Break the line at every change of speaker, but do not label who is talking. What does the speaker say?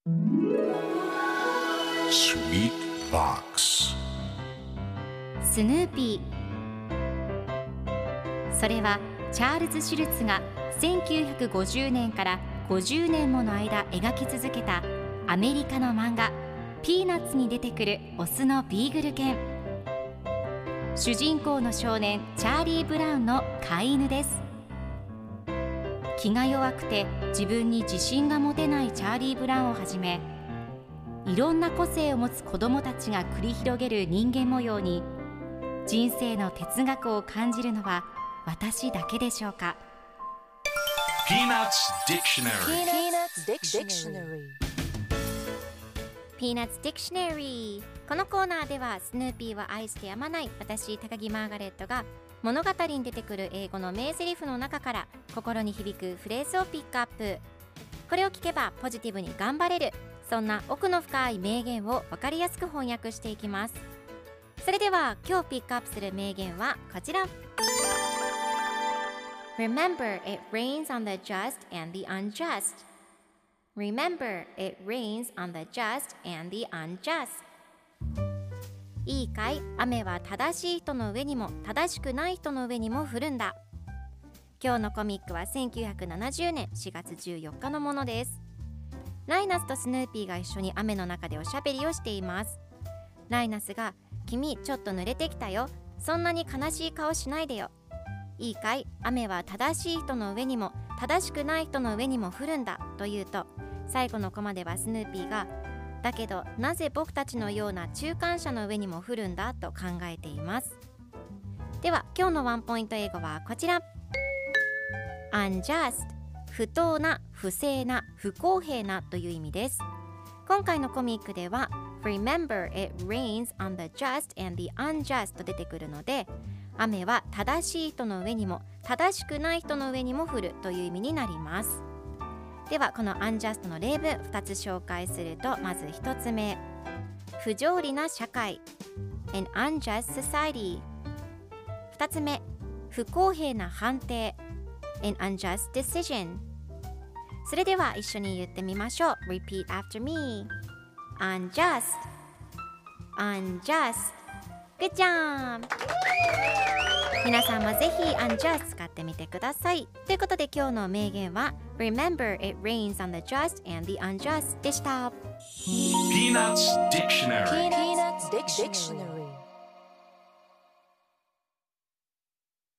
Sweet Box
スヌーピー。それはチャールズ・シュルツが1950年から50年もの間描き続けたアメリカの漫画ピーナッツに出てくるオスのビーグル犬。主人公の少年チャーリー・ブラウンの飼い犬です。気が弱くて自分に自信が持てないチャーリー・ブラウンをはじめ、いろんな個性を持つ子どもたちが繰り広げる人間模様に人生の哲学を感じるのは私だけでしょうか。
Peanuts Dictionary
Peanuts Dictionary。 このコーナーではスヌーピーは愛してやまない私高木マーガレットが物語に出てくる英語の名台詞の中から心に響くフレーズをピックアップ。これを聞けばポジティブに頑張れる、そんな奥の深い名言を分かりやすく翻訳していきます。それでは今日ピックアップする名言はこちら。 Remember, it rains on the just and the unjust. Remember, it rains on the just and the unjust. いいかい、雨は正しい人の上にも正しくない人の上にも降るんだ。今日のコミックは1970年4月14日のものです。ライナスとスヌーピーが一緒に雨の中でおしゃべりをしています。ライナスが、君ちょっと濡れてきたよ、そんなに悲しい顔しないでよ。いいかい、雨は正しい人の上にも正しくない人の上にも降るんだと言うと、最後のコマではスヌーピーが、だけどなぜ僕たちのような中間者の上にも降るんだと考えています。では今日のワンポイント英語はこちら。 Unjust、 不当な、不正な、不公平なという意味です。今回のコミックでは Remember, it rains on the just and the unjust と出てくるので、雨は正しい人の上にも正しくない人の上にも降るという意味になります。ではこの unjust の例文2つ紹介すると、まず1つ目、不条理な社会 An unjust society。 2つ目、不公平な判定 An unjust decision。 それでは一緒に言ってみましょう。 Repeat after me。 Unjust Unjust。 Good job。皆さんもぜひ unjust 使ってみてください。ということで今日の名言は Remember, it rains on the just and the unjust でした。
Peanuts Dictionary
Peanuts Dictionary